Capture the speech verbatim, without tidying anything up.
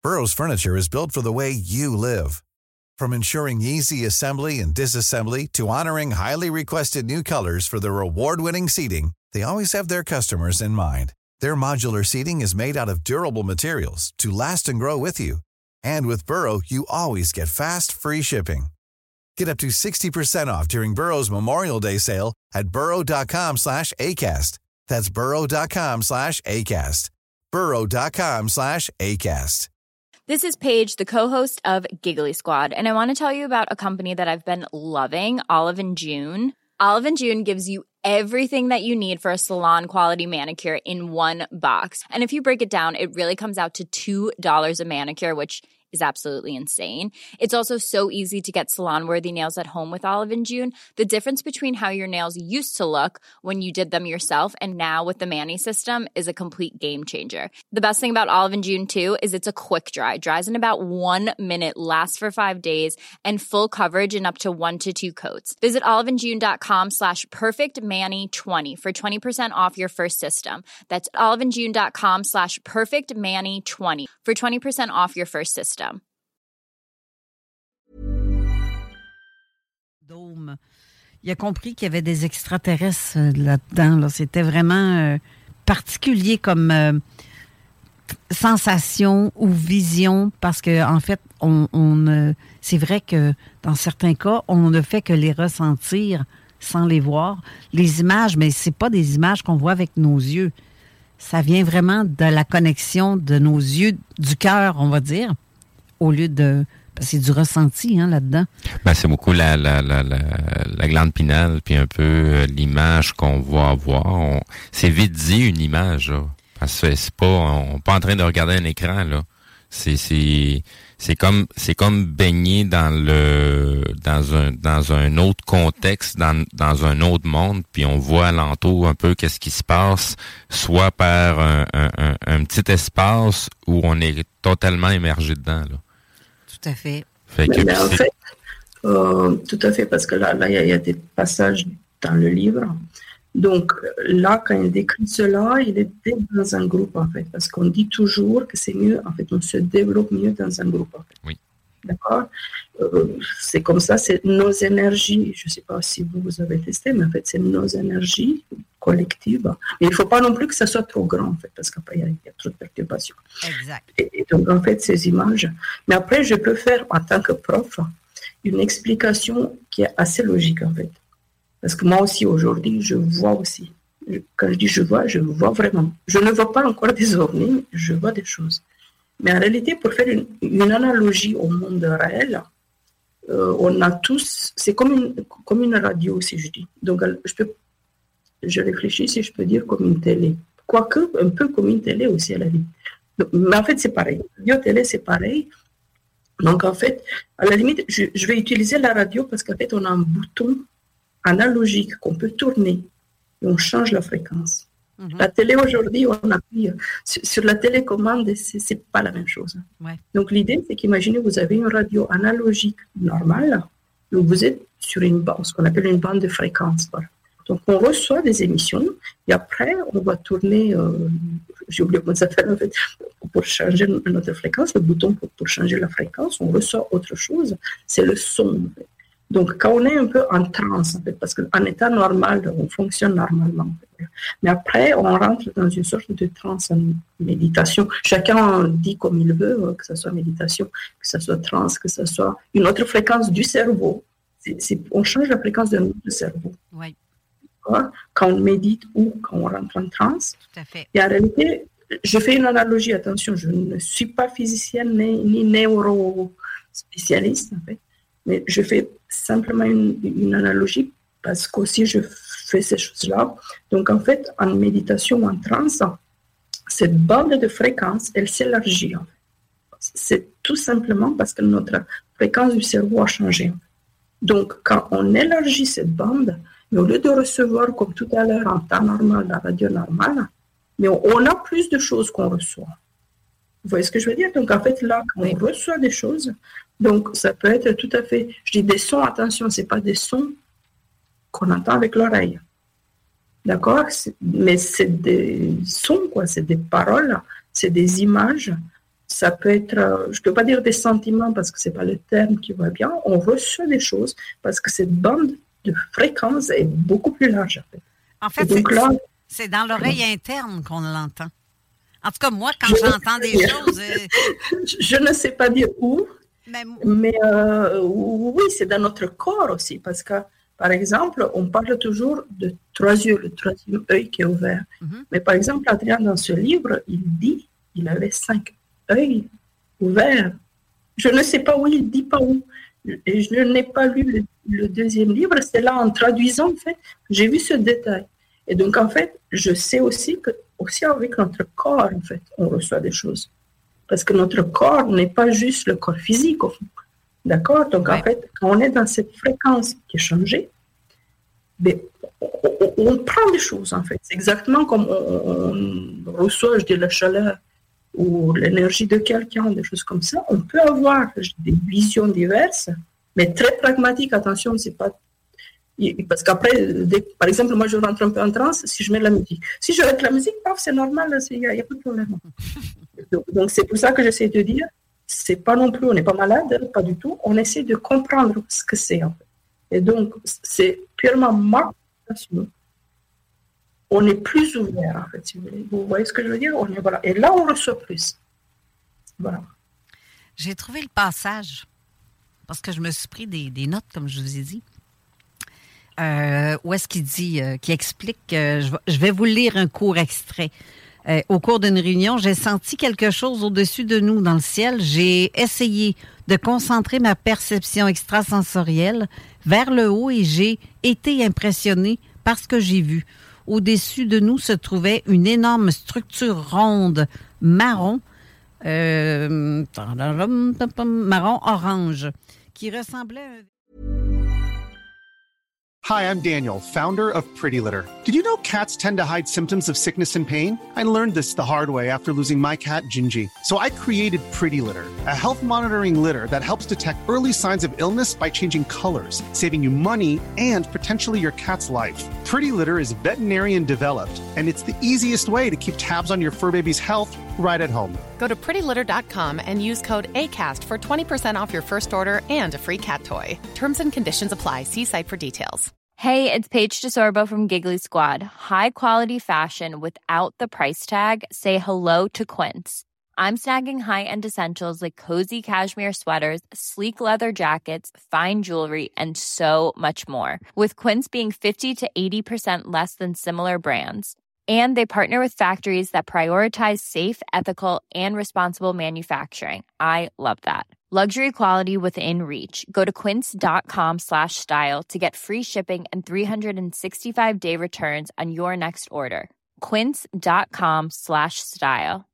Burrow's furniture is built for the way you live. From ensuring easy assembly and disassembly to honoring highly requested new colors for their award-winning seating, they always have their customers in mind. Their modular seating is made out of durable materials to last and grow with you. And with Burrow, you always get fast, free shipping. Get up to sixty percent off during Burrow's Memorial Day sale at burrow.com slash ACAST. That's burrow.com slash ACAST. burrow.com slash ACAST. This is Paige, the co-host of Giggly Squad, and I want to tell you about a company that I've been loving, Olive and June. Olive and June gives you everything that you need for a salon-quality manicure in one box. And if you break it down, it really comes out to two dollars a manicure, which is absolutely insane. It's also so easy to get salon-worthy nails at home with Olive and June. The difference between how your nails used to look when you did them yourself and now with the Mani system is a complete game changer. The best thing about Olive and June, too, is it's a quick dry. Dries in about one minute, lasts for five days, and full coverage in up to one to two coats. Visit oliveandjune.com slash perfectmani20 for twenty percent off your first system. That's oliveandjune.com slash perfectmani20 for twenty percent off your first system. Dôme. Il a compris qu'il y avait des extraterrestres euh, là-dedans. Là. C'était vraiment euh, particulier comme euh, sensation ou vision parce que en fait, on, on euh, c'est vrai que dans certains cas, on ne fait que les ressentir sans les voir. Les images, mais c'est pas des images qu'on voit avec nos yeux. Ça vient vraiment de la connexion de nos yeux, du cœur, on va dire, au lieu de... Parce que c'est du ressenti hein, là-dedans. Ben, c'est beaucoup la, la, la, la, la glande pinale, puis un peu euh, l'image qu'on va avoir. On, c'est vite dit une image, là. Parce que c'est pas, on n'est pas en train de regarder un écran, là. C'est, c'est, c'est comme, c'est comme baigner dans le, dans un, dans un autre contexte, dans, dans un autre monde, puis on voit alentour un peu qu'est-ce qui se passe, soit par un, un, un, un petit espace où on est totalement immergé dedans, là. Tout à fait. Fait que, mais, mais en fait, euh, tout à fait, parce que là, là, il y, y a des passages dans le livre. Donc là, quand il décrit cela, il est dans un groupe, en fait, parce qu'on dit toujours que c'est mieux, en fait, on se développe mieux dans un groupe, en fait. Oui. D'accord euh, c'est comme ça, c'est nos énergies, je ne sais pas si vous, vous avez testé, mais en fait, c'est nos énergies collectives. Mais il ne faut pas non plus que ça soit trop grand, en fait, parce qu'après, il y, y a trop de perturbations. Exact. Et, et donc, en fait, ces images. Mais après, je peux faire, en tant que prof, une explication qui est assez logique, en fait. Parce que moi aussi, aujourd'hui, je vois aussi. Je, quand je dis je vois, je vois vraiment. Je ne vois pas encore des ovnis, je vois des choses. Mais en réalité, pour faire une, une analogie au monde réel, euh, on a tous, c'est comme une, comme une radio, si je dis. Donc, je, peux, je réfléchis si je peux dire comme une télé. Quoique, un peu comme une télé aussi à la limite. Donc, mais en fait, c'est pareil. Radio-télé, c'est pareil. Donc, en fait, à la limite, je, je vais utiliser la radio parce qu'en fait, on a un bouton analogique qu'on peut tourner et on change la fréquence. Mm-hmm. La télé aujourd'hui, on appuie sur, sur la télécommande et c'est, c'est pas la même chose. Ouais. Donc l'idée, c'est qu'imaginez vous avez une radio analogique normale, donc vous êtes sur une bande, ce qu'on appelle une bande de fréquence. Voilà. Donc on reçoit des émissions et après on va tourner, euh, j'ai oublié comment ça s'appelle en fait, pour changer notre fréquence, le bouton pour, pour changer la fréquence, on reçoit autre chose, c'est le son en fait. Donc, quand on est un peu en transe, en fait, parce qu'en état normal, on fonctionne normalement. Mais après, on rentre dans une sorte de transe en méditation. Chacun dit comme il veut, que ce soit méditation, que ce soit transe, que ce soit une autre fréquence du cerveau. C'est, c'est, on change la fréquence de notre cerveau. Oui. Quand on médite ou quand on rentre en transe. Tout à fait. Et en réalité, je fais une analogie, attention, je ne suis pas physicienne ni, ni neurospécialiste, en fait. Mais je fais simplement une, une analogie parce qu'aussi je fais ces choses-là. Donc en fait, en méditation ou en transe, cette bande de fréquence, elle s'élargit. C'est tout simplement parce que notre fréquence du cerveau a changé. Donc quand on élargit cette bande, mais au lieu de recevoir comme tout à l'heure en temps normal, la radio normale, mais on, on a plus de choses qu'on reçoit. Vous voyez ce que je veux dire? Donc en fait là, quand on reçoit des choses, donc, ça peut être tout à fait... Je dis des sons, attention, ce n'est pas des sons qu'on entend avec l'oreille. D'accord? C'est, mais c'est des sons, quoi. C'est des paroles, c'est des images ça peut être, euh, je ne peux pas dire des sentiments parce que ce n'est pas le terme qui va bien, on reçoit des choses parce que cette bande de fréquence est beaucoup plus large. En fait, en fait donc c'est, là, c'est dans l'oreille interne qu'on l'entend. En tout cas, moi, quand j'entends des choses... Euh... Je ne sais pas dire où, mais, mais euh, oui, c'est dans notre corps aussi, parce que, par exemple, on parle toujours de trois yeux, le troisième œil qui est ouvert. Mm-hmm. Mais par exemple, Adrien, dans ce livre, il dit qu'il avait cinq œils ouverts. Je ne sais pas où, il ne dit pas où. Et je n'ai pas lu le, le deuxième livre, c'est là, en traduisant, en fait, j'ai vu ce détail. Et donc, en fait, je sais aussi que, aussi avec notre corps, en fait, on reçoit des choses. Parce que notre corps n'est pas juste le corps physique, au fond. D'accord? Donc, ouais. En fait, quand on est dans cette fréquence qui est changée, ben, on, on, on prend des choses, en fait. C'est exactement comme on, on reçoit, je dis, la chaleur ou l'énergie de quelqu'un, des choses comme ça. On peut avoir des visions diverses, mais très pragmatiques. Attention, c'est pas... Parce qu'après, dès, par exemple, moi, je rentre un peu en transe si je mets de la musique. Si je mets de la musique, paf, c'est normal, il n'y a, a pas de problème. Donc, donc, c'est pour ça que j'essaie de dire, c'est pas non plus, on n'est pas malade, pas du tout. On essaie de comprendre ce que c'est, en fait. Et donc, c'est purement ma passion. On est plus ouvert, en fait, si vous voulez. Vous voyez ce que je veux dire? On est, voilà. Et là, on reçoit plus. Voilà. J'ai trouvé le passage, parce que je me suis pris des, des notes, comme je vous ai dit. Euh, où est-ce qu'il dit, euh, qui explique, euh, je, vais, je vais vous lire un court extrait. Euh, au cours d'une réunion, j'ai senti quelque chose au-dessus de nous dans le ciel. J'ai essayé de concentrer ma perception extrasensorielle vers le haut et j'ai été impressionnée par ce que j'ai vu. Au-dessus de nous se trouvait une énorme structure ronde marron, euh, marron-orange, qui ressemblait à un... Hi, I'm Daniel, founder of Pretty Litter. Did you know cats tend to hide symptoms of sickness and pain? I learned this the hard way after losing my cat, Gingy. So I created Pretty Litter, a health monitoring litter that helps detect early signs of illness by changing colors, saving you money and potentially your cat's life. Pretty Litter is veterinarian developed, and it's the easiest way to keep tabs on your fur baby's health right at home. Go to pretty litter dot com and use code ACAST for twenty percent off your first order and a free cat toy. Terms and conditions apply. See site for details. Hey, it's Paige DeSorbo from Giggly Squad. High quality fashion without the price tag. Say hello to Quince. I'm snagging high-end essentials like cozy cashmere sweaters, sleek leather jackets, fine jewelry, and so much more. With Quince being fifty to eighty percent less than similar brands. And they partner with factories that prioritize safe, ethical, and responsible manufacturing. I love that. Luxury quality within reach. Go to quince.com slash style to get free shipping and three sixty-five day returns on your next order. Quince.com slash style.